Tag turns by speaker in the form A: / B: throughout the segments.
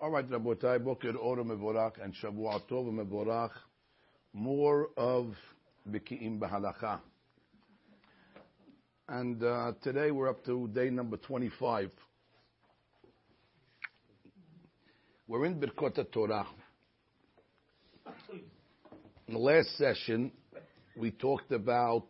A: All right, Rabotai, Boker Ora Mevorach and Shavua Tov Mevorach. More of Biki'im B'Halacha. And today we're up to day number 25. We're in Birkot Torah. In the last session, we talked about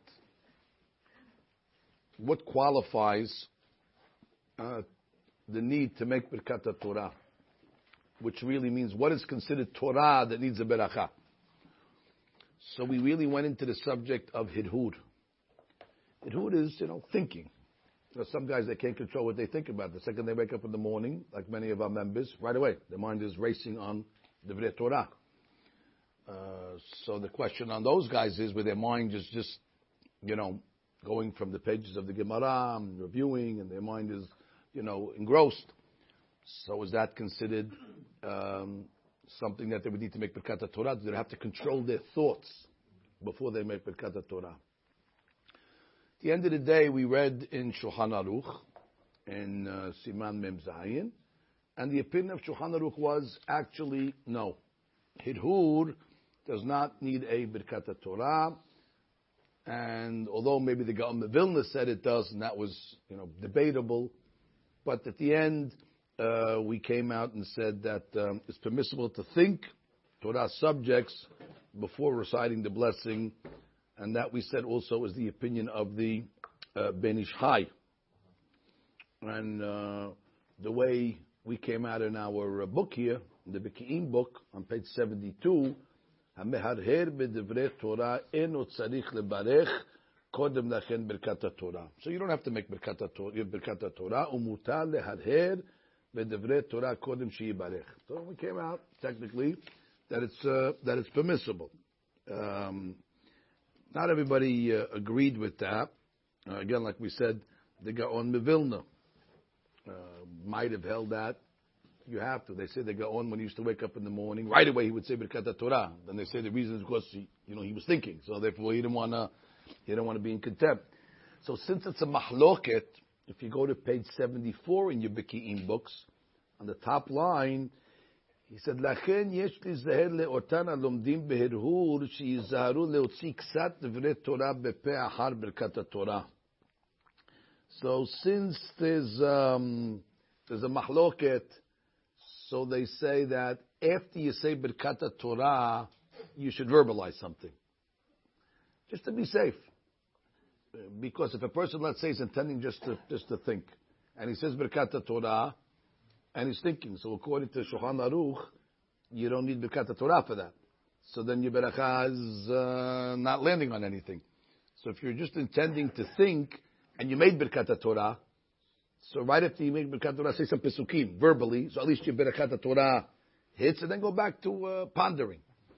A: what qualifies the need to make Birkat Torah, which really means what is considered Torah that needs a beracha. So we really went into the subject of hidhud. Hidhud is, thinking. There are some guys that can't control what they think about. The second they wake up in the morning, like many of our members, right away, their mind is racing on Divrei Torah. So the question on those guys is where their mind is just, going from the pages of the Gemara and reviewing, and their mind is, engrossed. So is that considered something that they would need to make Birkat Torah? Do they have to control their thoughts before they make Birkat Torah? At the end of the day, we read in Shulchan Aruch, in Siman Mem Zayin, and the opinion of Shulchan Aruch was actually no. Hidhud does not need a Birkat Torah, and although maybe the Gaon of Vilna said it does, and that was debatable, but at the end, we came out and said that it's permissible to think Torah subjects before reciting the blessing, and that we said also is the opinion of the Ben Ish Chai. And the way we came out in our book here, in the Biki'im book, on page 72, HaMeharher b'divrei Torah eno tzarich lebarech kodem lachen birkat Torah. So you don't have to make birkat Torah, umutar leharher b'divrei Torah kodem sheyibarech. So we came out technically that it's permissible. Not everybody agreed with that. Again, like we said, the Gaon Mevilna might have held that you have to. They say the Gaon, when he used to wake up in the morning, right away he would say Birkat Torah. Then they say the reason is because he was thinking, so therefore he didn't want to be in contempt. So since it's a mahloket, if you go to page 74 in your Biki'im books, on the top line, he said, "Lachen yesh lizaher le'otan alomdim beherhur sheyizaharu leotzi ksat divrei Torah bepe achar Birkat Torah." So since there's a mahloket, so they say that after you say Birkat Torah, you should verbalize something, just to be safe. Because if a person, let's say, is intending just to think, and he says Birkat Torah, and he's thinking, so according to Shulchan Aruch, you don't need Birkat Torah for that. So then your beracha is not landing on anything. So if you're just intending to think, and you made Birkat Torah, so right after you make Birkat Torah, say some Pesukim verbally, so at least your Birkat Torah hits, and then go back to pondering.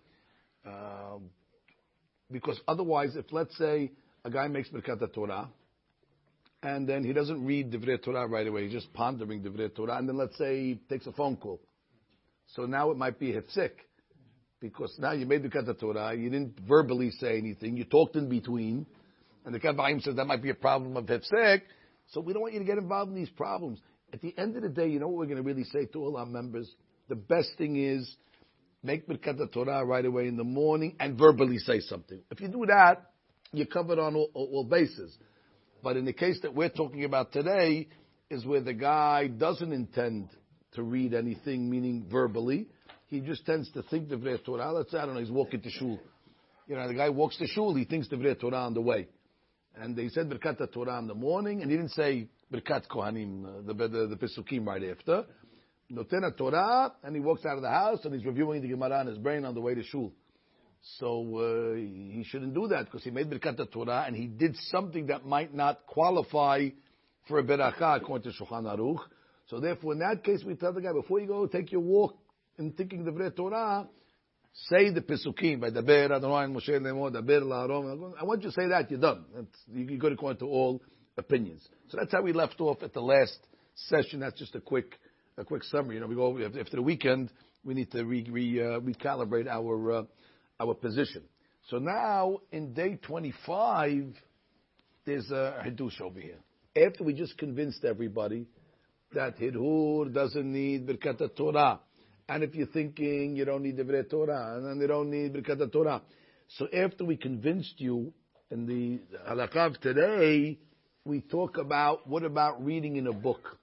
A: Because otherwise, if let's say a guy makes Birkat Torah, and then he doesn't read Divrei Torah right away, he's just pondering Divrei Torah, and then let's say he takes a phone call. So now it might be a hefsek, because now you made Birkat Torah, you didn't verbally say anything, you talked in between, and the Kavaim says that might be a problem of hefsek, so we don't want you to get involved in these problems. At the end of the day, you know what we're going to really say to all our members? The best thing is, make Birkat Torah right away in the morning, and verbally say something. If you do that, you're covered on all bases. But in the case that we're talking about today, is where the guy doesn't intend to read anything, meaning verbally. He just tends to think Divrei Torah. Let's say, I don't know, he's walking to shul. The guy walks to shul, he thinks Divrei Torah on the way. And they said Birkat Torah in the morning, and he didn't say Birkat Kohanim, the Pesukim right after. Noten Torah, and he walks out of the house, and he's reviewing the Gemara in his brain on the way to shul. So he shouldn't do that because he made Birkat Torah and he did something that might not qualify for a beracha according to Shulchan Aruch. So therefore, in that case, we tell the guy, before you go take your walk in thinking Divrei Torah, say the Pesukim by Daber Adonai Moshe Lemo Daber LaAron. And once you say that, you're done. You go according to all opinions. So that's how we left off at the last session. That's just a quick summary. We go after the weekend. We need to recalibrate our position. So now, in day 25, there's a Hidush over here. After we just convinced everybody that Hidhur doesn't need Birkat Torah, And if you're thinking you don't need Divrei Torah, and then they don't need Birkat Torah. So after we convinced you in the halakha of today, we talk about what about reading in a book.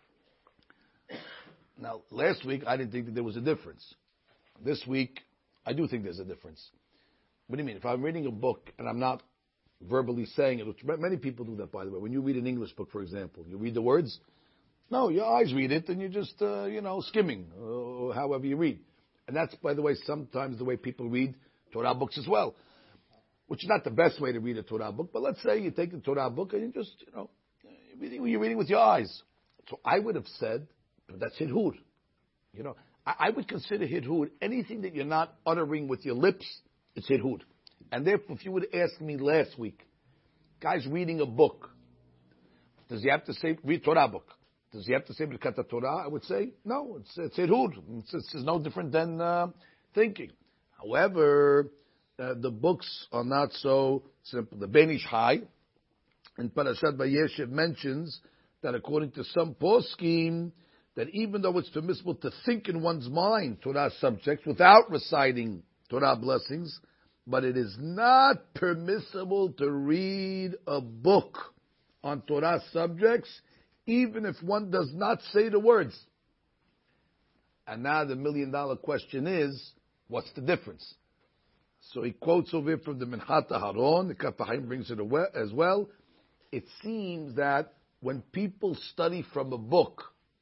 A: Now, last week I didn't think that there was a difference. This week, I do think there's a difference. What do you mean? If I'm reading a book and I'm not verbally saying it, which many people do that, by the way. When you read an English book, for example, you read the words. No, your eyes read it, and you're just, skimming, or however you read. And that's, by the way, sometimes the way people read Torah books as well, which is not the best way to read a Torah book. But let's say you take the Torah book and you just, you're reading with your eyes. So I would have said, that's hidhud. I would consider hidhud anything that you're not uttering with your lips. It's hidhud. And therefore, if you would ask me last week, guy's reading a book, does he have to say, read Torah book? Does he have to say Birkat Torah? I would say, no, it's hidhud. It's no different than thinking. However, the books are not so simple. The Ben Ish Chai in Parashat Vayeshev mentions that according to some poskim, that even though it's permissible to think in one's mind Torah subjects without reciting Torah blessings, but it is not permissible to read a book on Torah subjects, even if one does not say the words. And now the $1 million question is, what's the difference? So he quotes over here from the Minhat HaHaron, the Kaf HaChaim brings it as well. It seems that when people study from a book,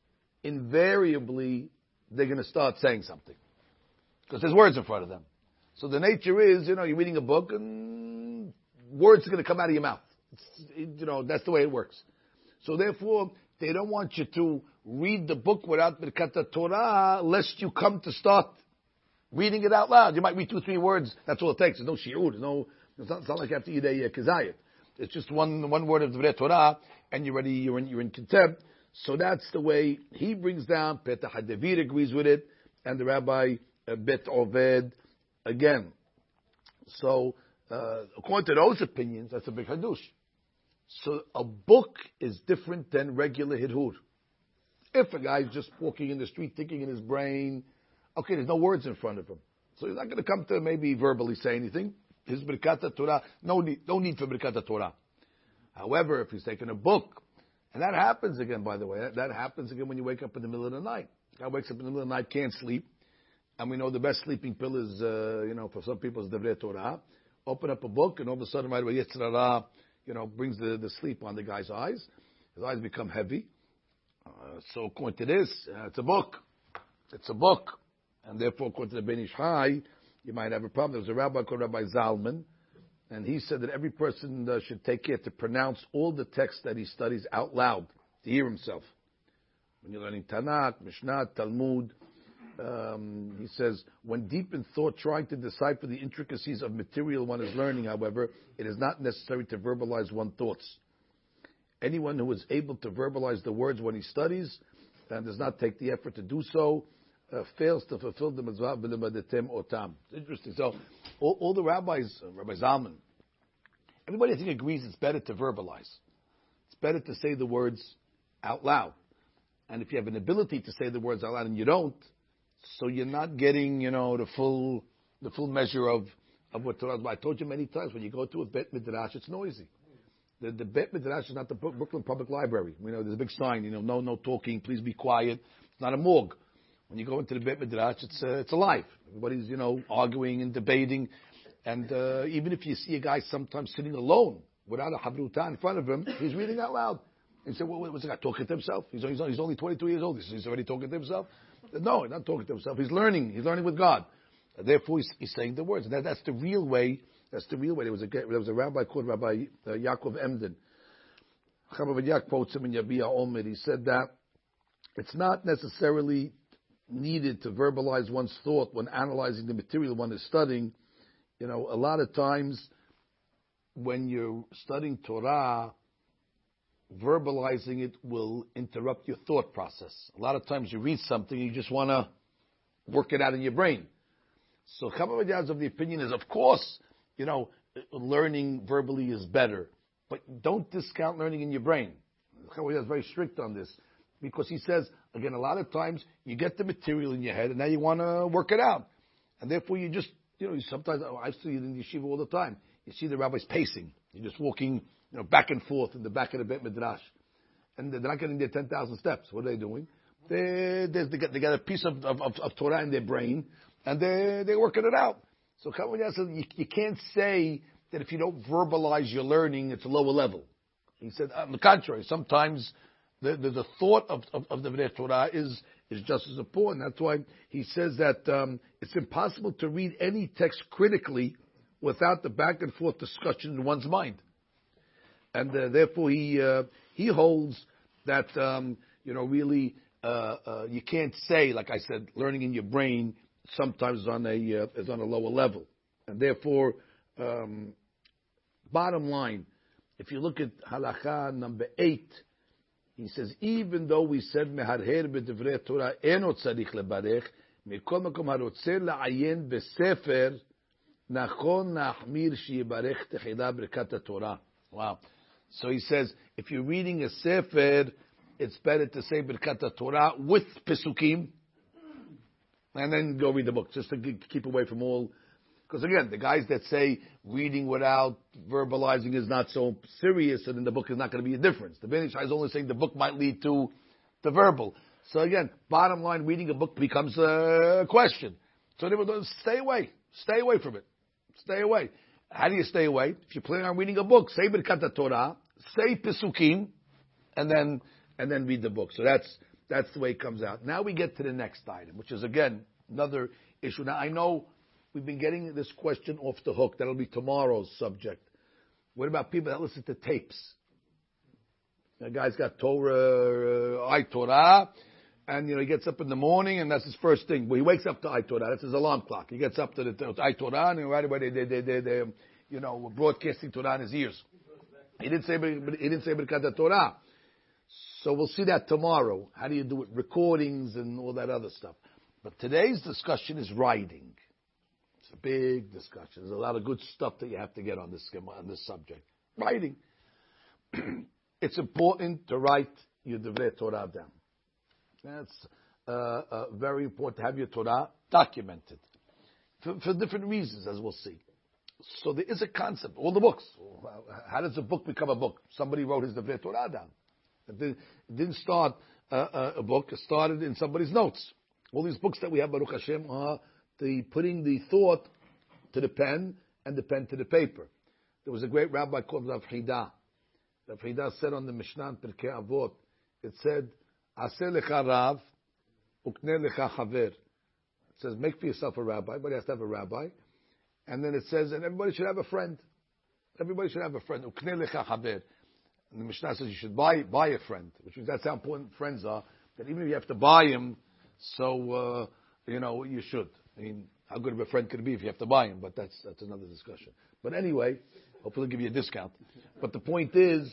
A: invariably they're going to start saying something. Because there's words in front of them. So the nature is, you're reading a book and words are going to come out of your mouth. That's the way it works. So therefore, they don't want you to read the book without Birkat Torah, lest you come to start reading it out loud. You might read 2-3 words. That's all it takes. There's no shiur. It's not like you have to eat a kezayit. It's just one word of the Torah, and you're in contempt. So that's the way he brings down. Petach HaDavid agrees with it, and the Rabbi Bet Oved again. So according to those opinions, that's a big hadush. So a book is different than regular hidhud. If a guy's just walking in the street thinking in his brain, okay, there's no words in front of him, so he's not going to come to maybe verbally say anything. His Birkat Torah, no need for Birkat Torah. However, if he's taking a book, and that happens again, by the way, that happens again when you wake up in the middle of the night. Guy wakes up in the middle of the night, can't sleep, and we know the best sleeping pill is, for some people, is Divrei Torah. Open up a book, and all of a sudden, right away, Yetzer Hara, brings the sleep on the guy's eyes. His eyes become heavy. So according to this, it's a book. It's a book. And therefore, according to the Ben Ish Chai, you might have a problem. There was a rabbi called Rabbi Zalman, and he said that every person should take care to pronounce all the texts that he studies out loud, to hear himself. When you're learning Tanakh, Mishnah, Talmud, he says, when deep in thought trying to decipher the intricacies of material one is learning, however, it is not necessary to verbalize one's thoughts. Anyone who is able to verbalize the words when he studies and does not take the effort to do so, fails to fulfill the mitzvah b'limadetem otam. It's interesting. So, all the rabbis, Rabbi Zalman, everybody I think agrees it's better to verbalize. It's better to say the words out loud. And if you have an ability to say the words out loud and you don't, so you're not getting, the full measure of what Torah is. I told you many times, when you go to a Bet Midrash, it's noisy. The Bet Midrash is not the Brooklyn Public Library. There's a big sign, no talking, please be quiet. It's not a morgue. When you go into the Bet Midrash, it's alive. Everybody's, arguing and debating. And even if you see a guy sometimes sitting alone without a habruta in front of him, he's reading out loud. And you say, well, what's the guy talking to himself? He's only 22 years old. He's already talking to himself? No, he's not talking to himself. He's learning. He's learning with God. Therefore, he's saying the words. And that's the real way. That's the real way. There was a rabbi called Rabbi Yaakov Emden. Chabad quotes him in Yabia Omer. He said that it's not necessarily needed to verbalize one's thought when analyzing the material one is studying. A lot of times when you're studying Torah, verbalizing it will interrupt your thought process. A lot of times you read something, you just want to work it out in your brain. So Chabad is of the opinion is, of course, learning verbally is better, but don't discount learning in your brain. Chabad is very strict on this. because he says, again, a lot of times you get the material in your head and now you want to work it out. And therefore you just, sometimes, I see it in yeshiva all the time. You see the rabbis pacing. You're just walking, back and forth in the back of the Beit Midrash. And they're not getting their 10,000 steps. What are they doing? They got a piece of Torah in their brain, and they're working it out. So Kavod said, you can't say that if you don't verbalize your learning, it's a lower level. He said, on the contrary, sometimes the thought of the Divrei Torah is just as important. That's why he says that it's impossible to read any text critically without the back and forth discussion in one's mind. And therefore he holds that, really, you can't say, like I said, learning in your brain sometimes is on a lower level. And therefore, bottom line, if you look at halakha number 8, he says, even though we said meharher b'divrei Torah eno tzarich lebarech, mikol makom harotzer la'ayen b'sefer nachon nahmir sheyibarech techida b'rekat Torah. Wow. So he says, if you're reading a sefer, it's better to say Birkat Torah with Pesukim, and then go read the book, just to keep away from all. Because again, the guys that say reading without verbalizing is not so serious, and then the book is not going to be a difference. The Ben Ish Chai is only saying the book might lead to the verbal. So again, bottom line, reading a book becomes a question. So they will stay away from it. Stay away. How do you stay away? If you're planning on reading a book, say Birkat Torah, say Pesukim, and then read the book. So that's the way it comes out. Now we get to the next item, which is again another issue. Now I know we've been getting this question off the hook. That'll be tomorrow's subject. What about people that listen to tapes? The guy's got Torah, iTorah, and he gets up in the morning and that's his first thing. Well, he wakes up to iTorah. That's his alarm clock. He gets up to the iTorah and right away they broadcasting Torah in his ears. He didn't say Birkat Torah. So we'll see that tomorrow. How do you do it? Recordings and all that other stuff. But today's discussion is writing. It's a big discussion. There's a lot of good stuff that you have to get on this subject. Writing. It's important to write your Divrei Torah down. That's very important to have your Torah documented. For different reasons, as we'll see. So there is a concept. All the books. How does a book become a book? Somebody wrote his Divrei Torah down. It didn't start a book. It started in somebody's notes. All these books that we have, Baruch Hashem, are putting the thought to the pen and the pen to the paper. There was a great rabbi called Rav Hida. Rav Hida said on the Mishnah in Pirkei Avot, it said, Aseh lecha Rav, ukneh lecha Chaver. It says, make for yourself a rabbi. Everybody has to have a rabbi. And then it says, and everybody should have a friend. Everybody should have a friend. Ukneh lecha Chaver. And the Mishnah says you should buy a friend, which means that's how important friends are. That even if you have to buy him, so you should. I mean, how good of a friend could it be if you have to buy him? But that's another discussion. But anyway, hopefully they'll give you a discount. But the point is,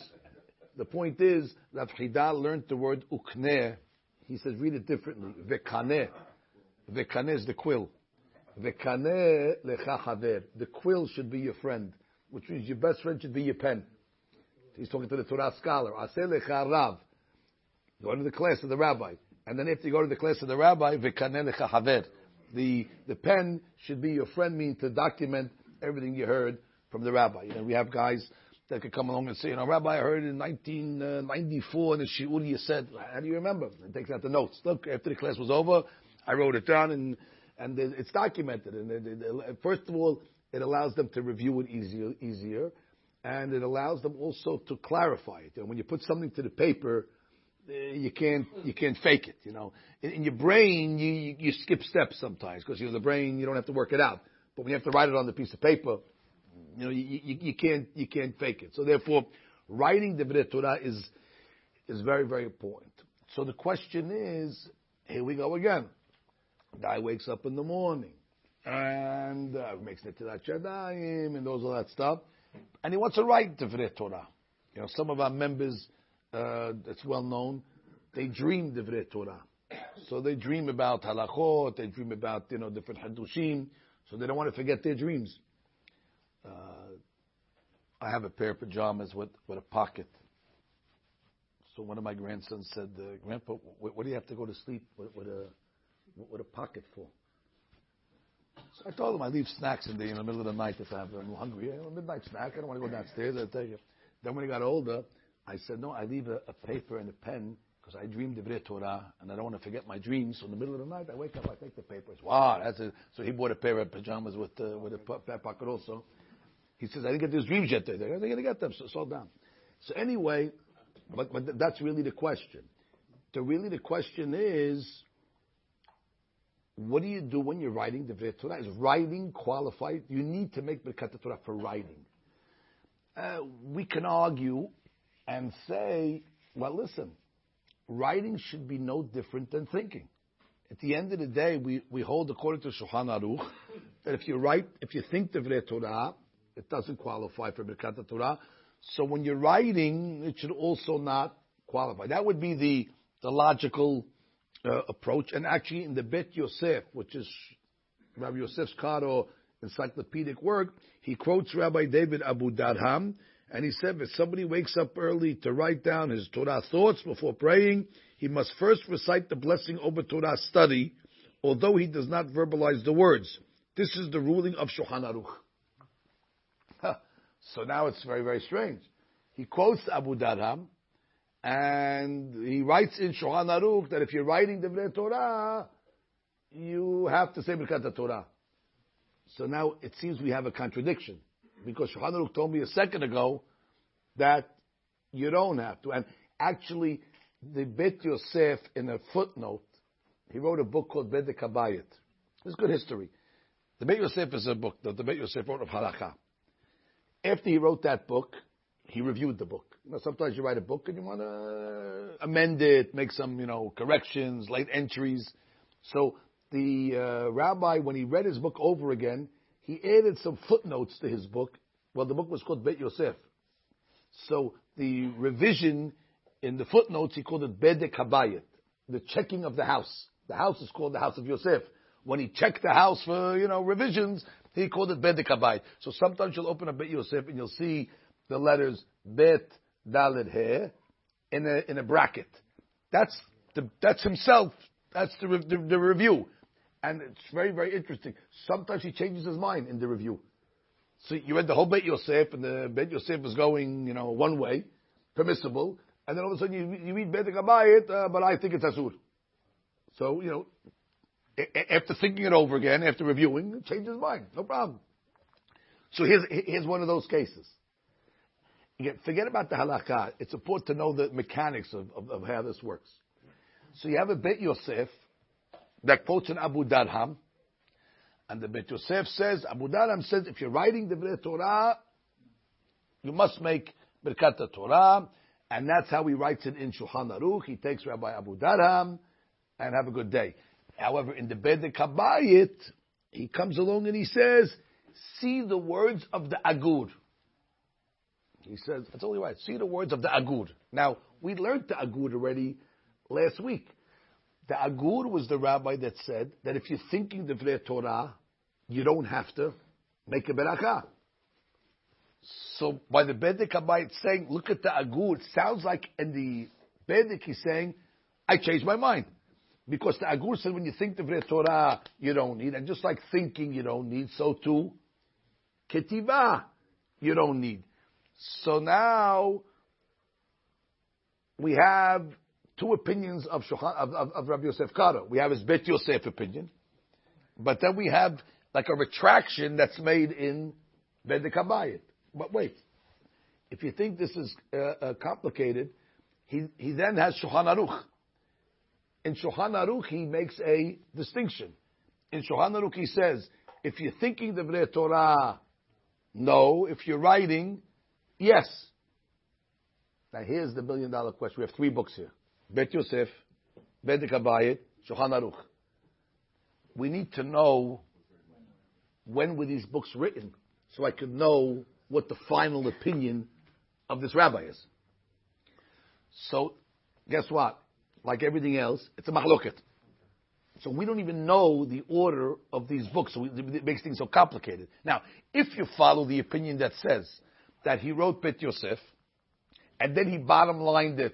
A: Rav Hida learned the word ukneh. He says read it differently. Vekaneh. Vekaneh is the quill. Vekaneh lecha haver. The quill should be your friend, which means your best friend should be your pen. He's talking to the Torah scholar. Aseh lecha Rav. Go to the class of the rabbi. And then after you go to the class of the rabbi, Vekaneh lecha haver. The pen should be your friend, meaning to document everything you heard from the rabbi. We have guys that could come along and say, Rabbi, I heard in 1994 in the shiur you said, how do you remember? And takes out the notes. Look, after the class was over, I wrote it down and it's documented. And first of all, it allows them to review it easier. And it allows them also to clarify it. When you put something to the paper, you can't fake it. In your brain, you skip steps sometimes because the brain you don't have to work it out. But when you have to write it on the piece of paper, you can't fake it. So therefore, writing the Divrei Torah is very, very important. So the question is, here we go again. Guy wakes up in the morning and makes Netilat Yadayim and all that stuff, and he wants to write Divrei Torah. Some of our members, it's well known, they dream Divrei Torah. So they dream about halachot, they dream about different hadushim, so they don't want to forget their dreams. I have a pair of pajamas with a pocket. So one of my grandsons said, Grandpa, what do you have to go to sleep with a pocket full? So I told him I leave snacks in the middle of the night if I'm hungry. A midnight snack. I don't want to go downstairs. I'll take it. Then when he got older, I said, no, I leave a paper and a pen because I dream Divrei Torah and I don't want to forget my dreams. So in the middle of the night, I wake up, I take the paper. Wow, that's it. So he bought a pair of pajamas with a pocket also. He says, I didn't get these dreams yet. They're going to get them. So slow down. So anyway, but that's really the question. The question is, what do you do when you're writing Divrei Torah? Is writing qualified? You need to make Birkat Torah for writing. We can argue and say, well, listen, writing should be no different than thinking. At the end of the day, we hold according to Shulchan Aruch that if you think Divrei Torah, it doesn't qualify for Birkat Torah. So when you're writing, it should also not qualify. That would be the logical approach. And actually, in the Bet Yosef, which is Rabbi Yosef's Karo encyclopedic work, he quotes Rabbi David Abu Darham, and he said, if somebody wakes up early to write down his Torah thoughts before praying, he must first recite the blessing over Torah study, although he does not verbalize the words. This is the ruling of Shulchan Aruch. So now it's very, very strange. He quotes Abu Darham, and he writes in Shulchan Aruch that if you're writing Divrei Torah, you have to say Birkat Torah. So now it seems we have a contradiction, because Shulchan Aruch told me a second ago that you don't have to. And actually, the Bet Yosef, in a footnote, he wrote a book called Bedek Habayit. It's good history. The Bet Yosef is a book that the Bet Yosef wrote of Halakha. After he wrote that book, he reviewed the book. Sometimes you write a book and you want to amend it, make some, corrections, late entries. So the rabbi, when he read his book over again, he added some footnotes to his book. Well, the book was called Bet Yosef. So the revision in the footnotes, he called it Bedek Habayit, the checking of the house. The house is called the house of Yosef. When he checked the house for, revisions, he called it Bedek Habayit. So sometimes you'll open up Bet Yosef and you'll see the letters Bet Dalet He in a bracket. That's himself. That's the review. And it's very, very interesting. Sometimes he changes his mind in the review. So you read the whole Bet Yosef, and the Bet Yosef is going, one way, permissible, and then all of a sudden you read Bedek Habayit, but I think it's Asur. So, after thinking it over again, after reviewing, he changes his mind. No problem. So here's one of those cases. Again, forget about the halakha. It's important to know the mechanics of how this works. So you have a Bet Yosef that quotes an Abu Darham, and the Bet Yosef says, Abu Darham says, if you're writing the Divrei Torah, you must make Birkat Torah, and that's how he writes it in Shulchan Aruch. He takes Rabbi Abu Darham, and have a good day. However, in the Bedek Habayit, he comes along and he says, see the words of the Agur. He says, that's only right. See the words of the Agur. Now, we learned the Agur already last week. The Agur was the rabbi that said that if you're thinking the Divrei Torah, you don't have to make a berakah. So by the Bedek Habayit saying, look at the Agur, it sounds like in the Bedek he's saying, I changed my mind. Because the Agur said when you think the Divrei Torah, you don't need. And just like thinking you don't need, so too, Ketivah, you don't need. So now, we have two opinions of Rabbi Yosef Karo. We have his Bet Yosef opinion, but then we have like a retraction that's made in Bedek Habayit. But wait, if you think this is complicated, he then has Shulchan Aruch. In Shulchan Aruch, he makes a distinction. In Shulchan Aruch, he says, if you're thinking the Divrei Torah, no. If you're writing, yes. Now here's the $1 billion question. We have 3 books here. Bet Yosef, Bedek Habayit, Shulchan Aruch. We need to know when were these books written so I could know what the final opinion of this rabbi is. So, guess what? Like everything else, it's a mahloket. So we don't even know the order of these books, so it makes things so complicated. Now, if you follow the opinion that says that he wrote Bet Yosef, and then he bottom lined it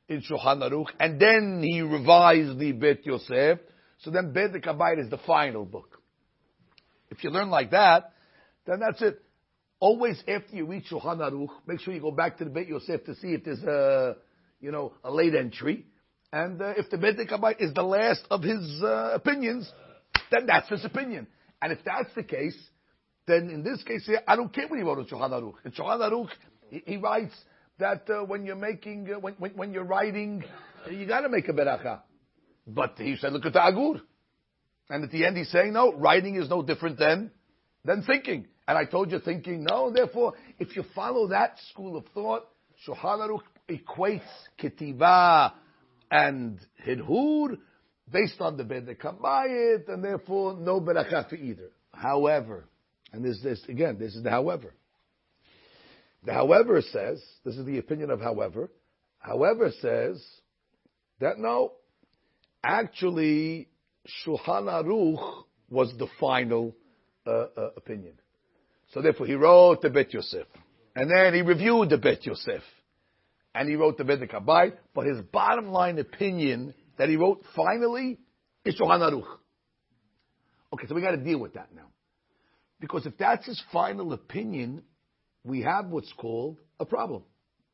A: in Shulchan Aruch, and then he revised the Bet Yosef. So then Bedek Habayit is the final book. If you learn like that, then that's it. Always after you read Shulchan Aruch, make sure you go back to the Bet Yosef to see if there's a late entry. And if the Bedek Habayit is the last of his opinions, then that's his opinion. And if that's the case, then in this case here, I don't care what he wrote in Shulchan Aruch. In Shulchan Aruch, he writes that when you're making, when you're writing, you got to make a beracha. But he said, look at the Agur. And at the end he's saying, no, writing is no different than thinking. And I told you thinking, no. Therefore, if you follow that school of thought, Shulchan Aruch equates ketiva and hidhur based on the Bedek Habayit, and therefore no beracha for either. However, and this is the however. The however says, this is the opinion of however says that no, actually Shulchan Aruch was the final opinion. So therefore he wrote the Bet Yosef. And then he reviewed the Bet Yosef. And he wrote the Bedek Habayit. But his bottom line opinion that he wrote finally is Shulchan Aruch. Okay, so we got to deal with that now. Because if that's his final opinion, we have what's called a problem.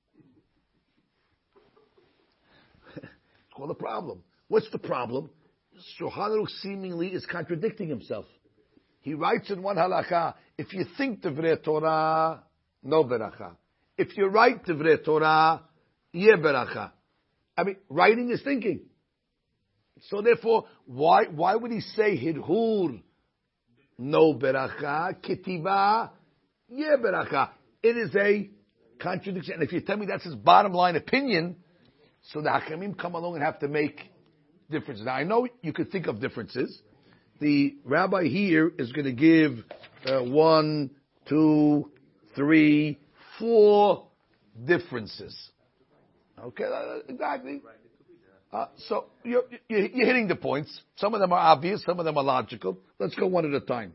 A: It's called a problem. What's the problem? Shulchan Aruch seemingly is contradicting himself. He writes in one halakha, if you think Divrei Torah, no beracha. If you write Divrei Torah, ye beracha. I mean, writing is thinking. So therefore, why would he say hidhur, no beracha, ketiva, ye beracha? It is a contradiction. And if you tell me that's his bottom line opinion, so the Hakamim come along and have to make differences. Now I know you could think of differences. The rabbi here is going to give 1, 2, 3, 4 differences. Okay, exactly. So you're hitting the points. Some of them are obvious, some of them are logical. Let's go one at a time.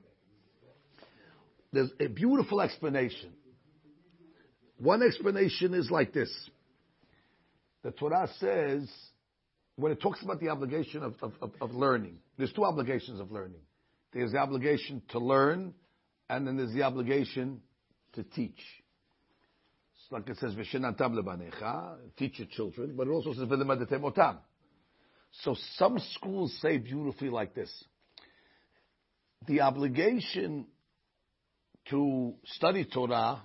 A: There's a beautiful explanation. One explanation is like this. The Torah says, when it talks about the obligation of learning, there's 2 obligations of learning. There's the obligation to learn, and then there's the obligation to teach. It's like it says, V'shenantam lebanecha, teach your children, but it also says, V'lemadatem otam. So some schools say beautifully like this. The obligation to study Torah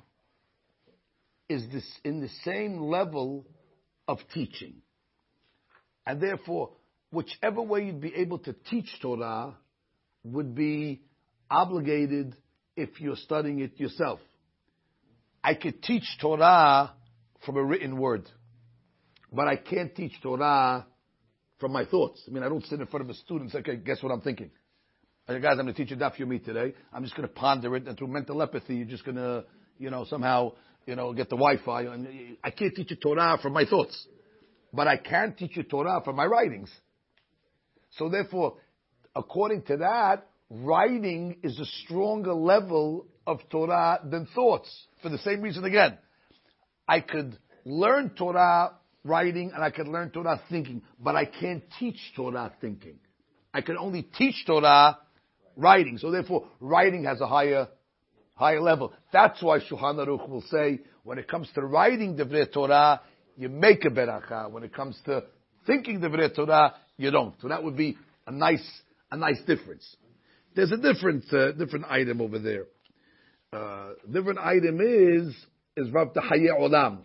A: is this in the same level of teaching. And therefore, whichever way you'd be able to teach Torah would be obligated if you're studying it yourself. I could teach Torah from a written word, but I can't teach Torah from my thoughts. I mean, I don't sit in front of a student and say, okay, guess what I'm thinking? Hey, guys, I'm going to teach you Daf Yomi today. I'm just going to ponder it, and through mental empathy, you're just going to, somehow, get the Wi-Fi. And I can't teach you Torah from my thoughts. But I can teach you Torah from my writings. So therefore, according to that, writing is a stronger level of Torah than thoughts. For the same reason again. I could learn Torah writing and I could learn Torah thinking, but I can't teach Torah thinking. I can only teach Torah writing. So therefore, writing has a higher level. That's why Shulchan Aruch will say, when it comes to writing Divrei Torah, you make a beracha. When it comes to thinking Divrei Torah, you don't. So that would be a nice difference. There's a different item over there. Different item is Rav Hayei Olam.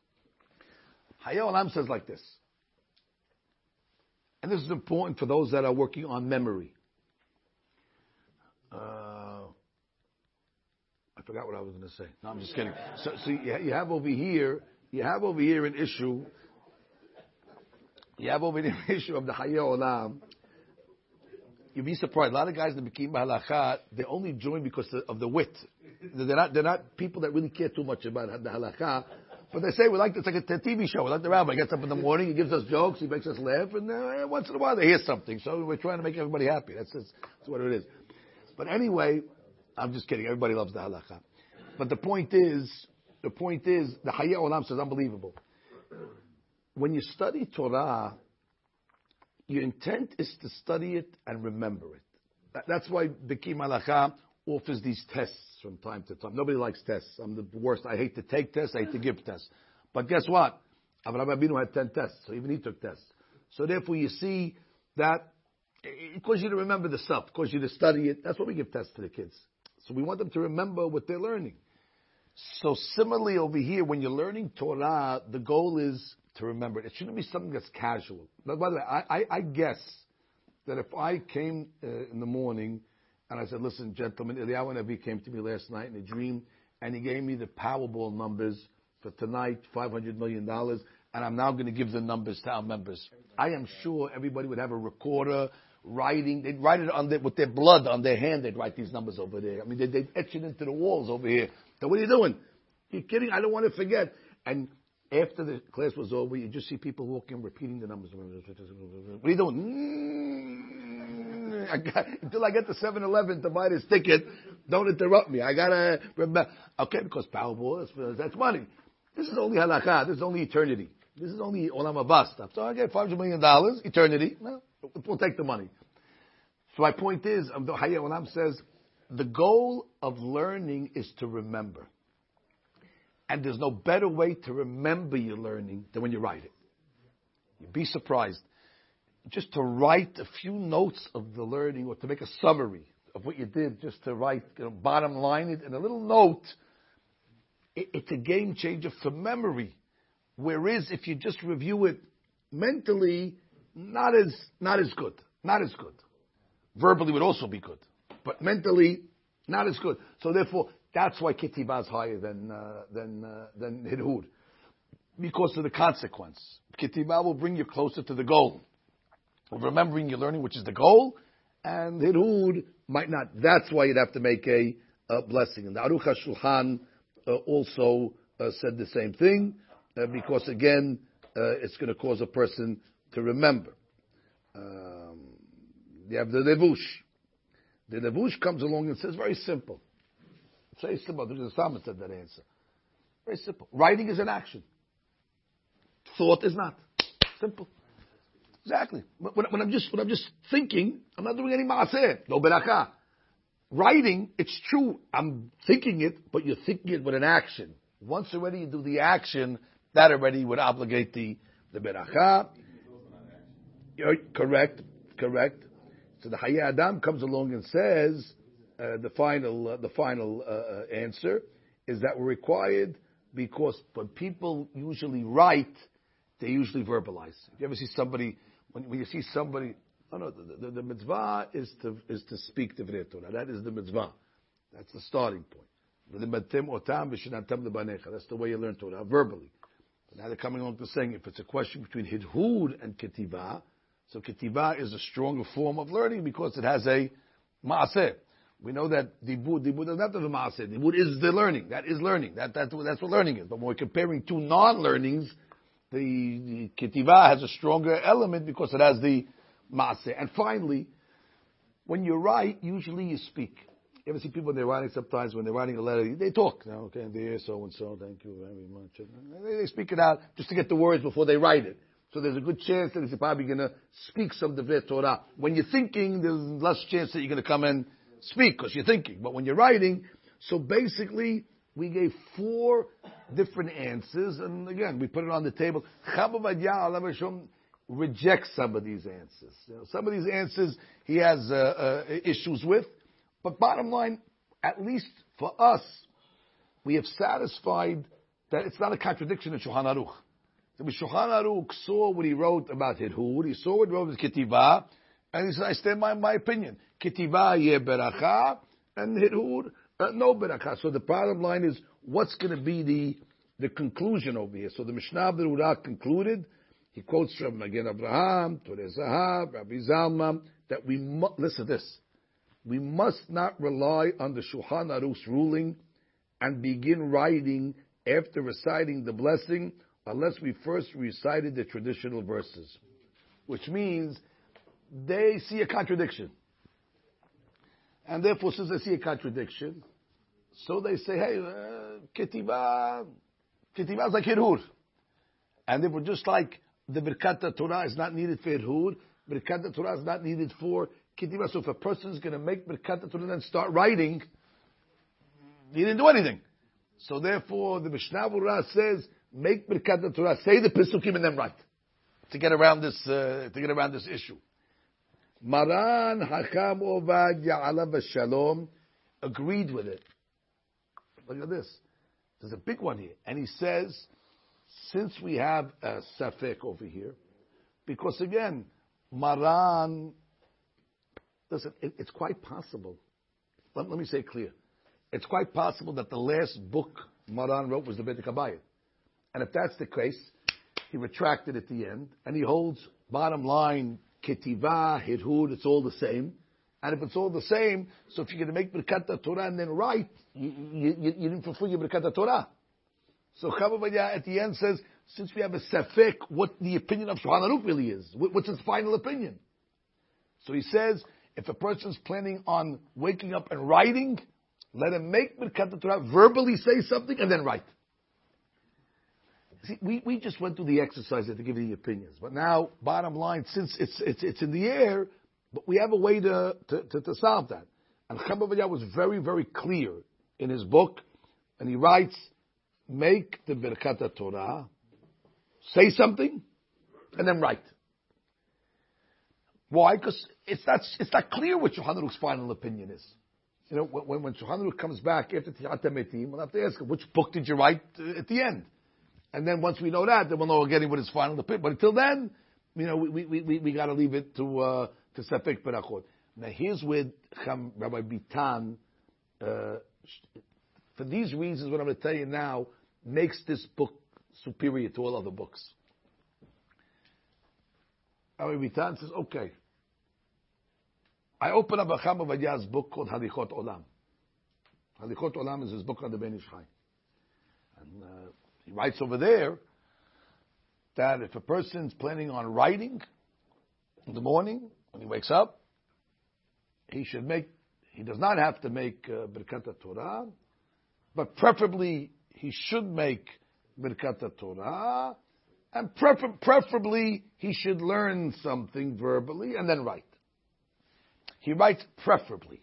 A: Hayei Olam says like this, and this is important for those that are working on memory. I forgot what I was going to say. No, I'm just kidding. So you have over here an issue. You have over here an issue of the Hayei Olam. You'd be surprised. A lot of guys in the Bikim Halacha, they only join because of the wit. They're not people that really care too much about the Halacha. But they say it's like a TV show. We like the rabbi. He gets up in the morning, he gives us jokes, he makes us laugh, and once in a while they hear something. So we're trying to make everybody happy. That's what it is. But anyway, I'm just kidding. Everybody loves the Halacha. But the point is, the Hayei Olam says unbelievable. when you study Torah, your intent is to study it and remember it. That's why Beki Malacha offers these tests from time to time. Nobody likes tests. I'm the worst. I hate to take tests. I hate to give tests. But guess what? Avraham Avinu had 10 tests, so even he took tests. So therefore, you see that it causes you to remember the stuff. It causes you to study it. That's why we give tests to the kids. So we want them to remember what they're learning. So similarly over here, when you're learning Torah, the goal is to remember it. It shouldn't be something that's casual. Now, by the way, I guess that if I came in the morning and I said, listen, gentlemen, Eliyahu Navi came to me last night in a dream and he gave me the Powerball numbers for tonight, $500 million, and I'm now going to give the numbers to our members. I am sure everybody would have a recorder writing. They'd write it with their blood on their hand. They'd write these numbers over there. I mean, they'd etch it into the walls over here. So what are you doing? You're kidding? I don't want to forget. And after the class was over, you just see people walking, repeating the numbers. What are you doing? Until I get to 7-Eleven to buy this ticket, don't interrupt me. I gotta remember. Okay, because Powerball, that's money. This is only halakha. This is only eternity. This is only olam haba stuff. So I get $500 million, eternity. Well, we'll take the money. So my point is, the Hayya Olam says, the goal of learning is to remember. And there's no better way to remember your learning than when you write it. You'd be surprised. Just to write a few notes of the learning or to make a summary of what you did, just to write, bottom line it in a little note, it's a game changer for memory. Whereas if you just review it mentally, not as good. Not as good. Verbally would also be good. But mentally, not as good. So therefore, that's why Ketibah is higher than Hidhud. Because of the consequence. Ketibah will bring you closer to the goal of remembering your learning, which is the goal, and Hidhud might not. That's why you'd have to make a blessing. And the Aruch HaShulchan also said the same thing, because again, it's going to cause a person to remember. You have the Levush. The Levush comes along and says, very simple. It's very simple. The Psalmist said that answer. Very simple. Writing is an action. Thought is not. Simple. Exactly. When I'm just thinking, I'm not doing any maaseh. No berakah. Writing, it's true. I'm thinking it, but you're thinking it with an action. Once already you do the action, that already would obligate the berakah. Correct. So the Hayya Adam comes along and says the final answer is that we're required because when people usually write, they usually verbalize. If you ever see somebody, when you see somebody, the mitzvah is to speak Divrei Torah. That is the mitzvah. That's the starting point. That's the way you learn Torah, verbally. But now they're coming along to saying if it's a question between Hidhud and Ketibah, so Ketibah is a stronger form of learning because it has a maaseh. We know that Dibud doesn't have to have a maaseh. Dibud is the learning. That is learning. That's what learning is. But when we're comparing two non-learnings, the Ketibah has a stronger element because it has the maaseh. And finally, when you write, usually you speak. You ever see people when they're writing sometimes, when they're writing a letter, they talk. Okay, dear so-and-so, thank you very much. They speak it out just to get the words before they write it. So there's a good chance that he's probably going to speak some Divrei Torah. When you're thinking, there's less chance that you're going to come and speak because you're thinking. But when you're writing, so basically, we gave 4 different answers. And again, we put it on the table. Chabad rejects some of these answers. Some of these answers he has issues with. But bottom line, at least for us, we have satisfied that it's not a contradiction in Shulchan Aruch. So Shulchan Aruch saw what he wrote about Hidhud, he saw what he wrote with Ketibah, and he said, I stand by my opinion. Ketibah ye beracha, and Hidhud no beracha. So the bottom line is, what's going to be the conclusion over here? So the Mishnah of the Urah concluded, he quotes from Magen Avraham, Torah Zahav, Rabbi Zalman, that listen to this, we must not rely on the Shulchan Aruch's ruling and begin writing after reciting the blessing unless we first recited the traditional verses. Which means they see a contradiction. And therefore, since they see a contradiction, so they say, hey, Ketibah is like Hidhud. And therefore, just like the Birkat Torah is not needed for Hirhud, Birkat Torah is not needed for Ketiva. So if a person is going to make Birkat Torah and then start writing, he didn't do anything. So therefore, the Mishnah Berurah says, make Birkat Torah, say the Pesukim and then write. To get around this issue. Maran Hakam Ovadia Alav Shalom agreed with it. Look at this. There's a big one here. And he says, since we have a Safek over here, because again, Maran, listen, it's quite possible. Let me say it clear. It's quite possible that the last book Maran wrote was the Beit HaKabayit. And if that's the case, he retracted at the end, and he holds, bottom line, Ketiva, Hirhud, it's all the same. And if it's all the same, so if you're going to make Birkat Torah and then write, you didn't fulfill your Birkat Torah. So Chavavaya at the end says, since we have a Safek, what the opinion of Shulchan Aruch really is. What's his final opinion? So he says, if a person's planning on waking up and writing, let him make Birkat Torah, verbally say something, and then write. See, we just went through the exercise to give you the opinions. But now, bottom line, since it's in the air, but we have a way to solve that. And Chavavaya was very, very clear in his book, and he writes, make the Birkat Torah, say something, and then write. Why? Because it's not clear what Shulchan Aruch's final opinion is. You know, when Shulchan Aruch comes back after Tihat HaMetim, we'll have to ask him, which book did you write at the end? And then once we know that, then we'll know we're getting what his final opinion. But until then, you know, we got to leave it to Safek Berachot. Now here's where Rabbi Bitan, for these reasons, what I'm going to tell you now, makes this book superior to all other books. Rabbi Bitan says, okay, I open up a Chavavadya's book called Halichot Olam. Halichot Olam is his book on the Ben Ish Chai. And he writes over there that if a person's planning on writing in the morning, when he wakes up, he does not have to make Birkat Torah, but preferably he should make Birkat Torah, and preferably he should learn something verbally and then write. He writes preferably.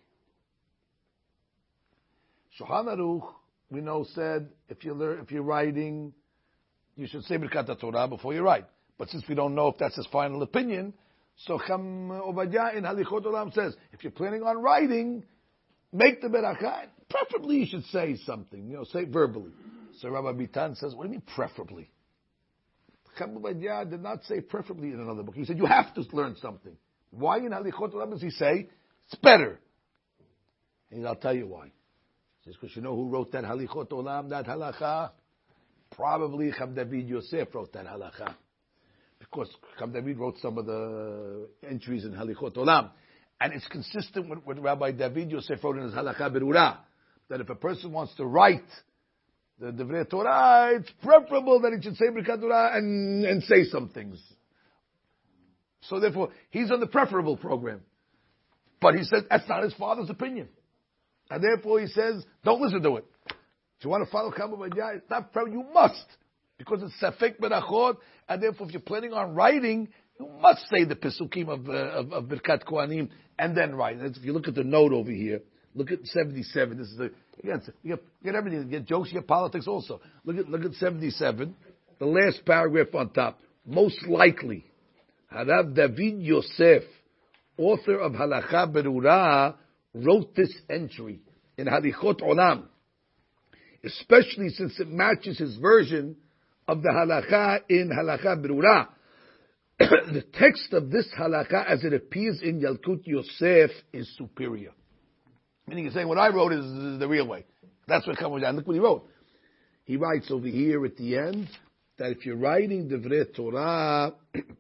A: Shulchan Aruch, we know, said if you're writing, you should say Birkat Torah before you write. But since we don't know if that's his final opinion, so Cham Ovadia in Halichot Olam says, if you're planning on writing, make the Beracha. Preferably you should say something, say verbally. So Rabbi Bitan says, what do you mean preferably? Cham Ovadia did not say preferably in another book. He said you have to learn something. Why in Halichot Olam does he say it's better? And I'll tell you why. He says, because you know who wrote that Halichot Olam, that halacha? Probably Cham David Yosef wrote that halacha. Because Cham David wrote some of the entries in Halichot Olam. And it's consistent with what Rabbi David Yosef wrote in his Halacha Berurah, that if a person wants to write the Divrei Torah, it's preferable that he should say Birkat Torah and say some things. So therefore, he's on the preferable program. But he says that's not his father's opinion. And therefore he says, don't listen to it. If you want to follow Cham Ovadia, it's not preferable, you must. Because it's Safek Berachot, and therefore if you're planning on writing, you must say the Pesukim of Birkat Kohanim, and then write. If you look at the note over here, look at 77. This is again, you get everything. You get jokes, you get politics also. Look at 77. The last paragraph on top. Most likely, Harav David Yosef, author of Halacha Berurah, wrote this entry in Halichot Olam, especially since it matches his version of the halacha in Halacha Berurah. The text of this halacha, as it appears in Yalkut Yosef, is superior. Meaning, he's saying what I wrote is the real way. That's what comes down. Look what he wrote. He writes over here at the end that if you're writing Divrei Torah,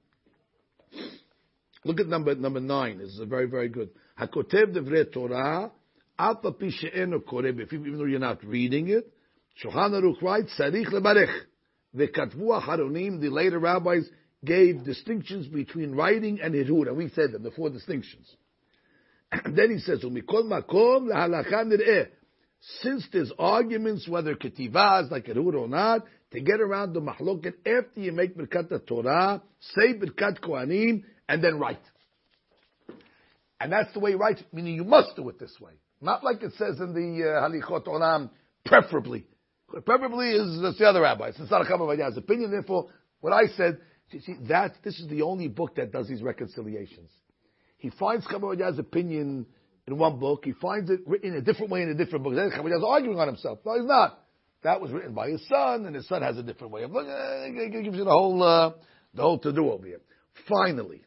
A: look at number 9. This is very, very good. Hakotev Divrei Torah, Alpa Pi She'eno Koreh, even though you're not reading it, Shulchan Aruch writes, Sarich Lebarech. The Katvu Haronim, the later rabbis, gave distinctions between writing and Hirhud, and we said them, the 4 distinctions. And then he says, Umikol Makom LaHalacha Nir'eh. Since there's arguments whether Ketivah is like Hirhud or not, to get around the mahloket after you make Birkat Torah, say Birkat Kohanim, and then write. And that's the way you write, meaning you must do it this way. Not like it says in the Halichot Olam, preferably. Preferably is that's the other rabbis. It's not a Chacham Ovadiah's opinion. Therefore, what I said, see, this is the only book that does these reconciliations. He finds Chacham Ovadiah's opinion in one book. He finds it written in a different way in a different book. Then Chacham Ovadiah's arguing on himself. No, he's not. That was written by his son, and his son has a different way of looking. It gives you the whole to-do over here. Finally,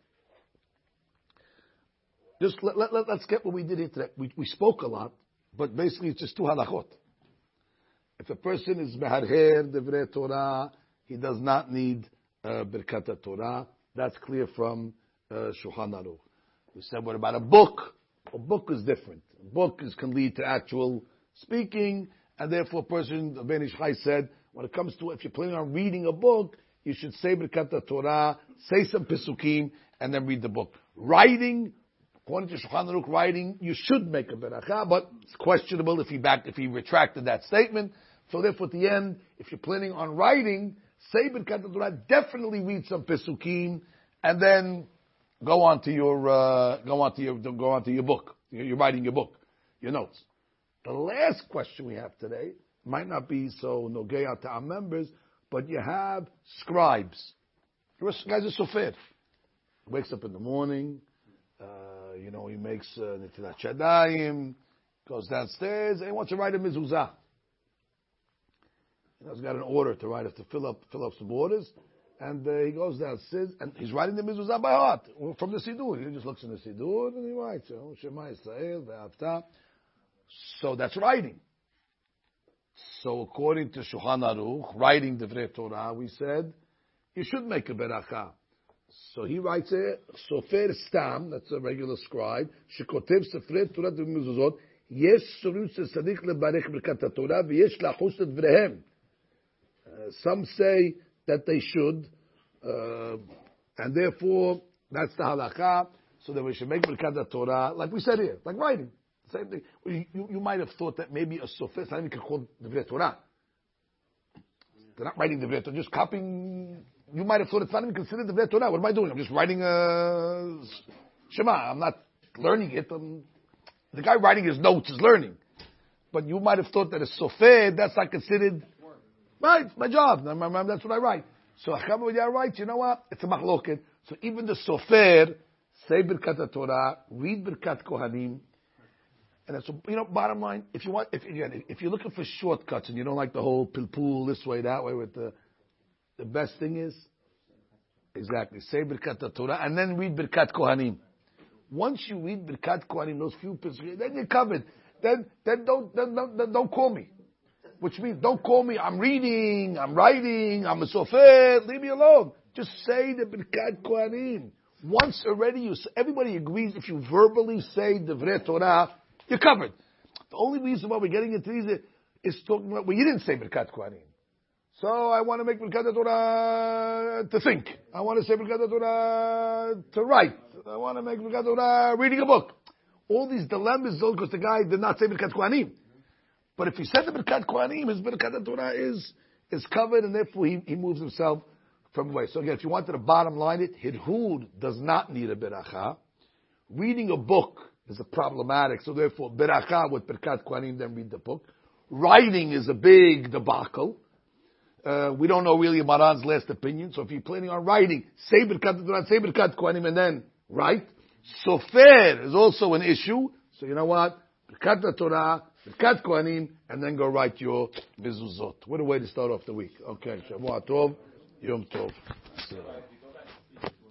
A: just let's get what we did here today. We spoke a lot, but basically it's just two halachot. If a person is meharher divrei Torah, he does not need Birkat Torah. That's clear from Shulchan Aruch. We said, what about a book? A book is different. A book can lead to actual speaking, and therefore a person, Ben Ish Chai said, when it comes to, if you're planning on reading a book, you should say Birkat Torah, say some Pesukim, and then read the book. Writing, according to Shulchan Aruch, writing, you should make a beracha, but it's questionable if he retracted that statement. So therefore, at the end, if you're planning on writing, say Birkat Torah, definitely read some Pesukim, and then go on to your book. You're writing your book, your notes. The last question we have today might not be so nogea to our members, but you have scribes. The guy's a sofer. He wakes up in the morning, he makes Netilat Shadayim, goes downstairs, and he wants to write a mezuzah. He's got an order to write, to fill up some orders, and he goes downstairs, and he's writing the mezuzah by heart, from the Siddur. He just looks in the Siddur, and he writes, Shema Yisrael, Ve'avta. So that's writing. So according to Shulchan Aruch, writing Divrei Torah, we said, you should make a beracha. So he writes it, Sofer Stam, that's a regular scribe, Shekotev Sefrei Torah Mezuzot, Yesh Sorut Sadik Lebarech Birkat Torah, V'yesh Lachus Devrehem. Some say that they should, and therefore, that's the halakha, so that we should make Birkat Torah, like we said here, like writing. Same thing. You might have thought that maybe a sofer, it's not even called Divrei Torah. They're not writing Divrei Torah, just copying. You might have thought it's not even considered Divrei Torah. What am I doing? I'm just writing a Shema. I'm not learning it. The guy writing his notes is learning. But you might have thought that a sofer, that's not considered. Right, it's my job. That's what I write. So Chacham Ovadiah writes, you know what? It's a machloket. So even the sofer, say Birkat Torah, read Birkat Kohanim. And so, bottom line, if you're looking for shortcuts and you don't like the whole pilpul this way, that way, with the best thing is, exactly, say Birkat Torah and then read Birkat Kohanim. Once you read Birkat Kohanim, those few passages, then you're covered. Then don't call me. Which means, don't call me, I'm reading, I'm writing, I'm a sofer, leave me alone. Just say the Birkat Kohanim. Once already, everybody agrees, if you verbally say Divrei Torah, you're covered. The only reason why we're getting into these is talking about, you didn't say Birkat Kohanim. So I want to make Birkat Torah to think. I want to say Birkat Torah to write. I want to make Birkat Torah reading a book. All these dilemmas, because the guy did not say Birkat Kohanim. But if he said the Birkat Kohanim, his Birkat Torah is covered, and therefore he moves himself from away. So again, if you wanted to bottom line it, Hidhud does not need a beracha. Reading a book is a problematic, so therefore beracha with Birkat Kohanim, then read the book. Writing is a big debacle. We don't know really Maran's last opinion, so if you're planning on writing, say Birkat Torah, say Birkat Kohanim, and then write. Sofer is also an issue, so you know what? Birkat Torah, Birkat Kohanim, and then go write your mezuzot. What a way to start off the week. Okay, Shavua Tov, Yom Tov.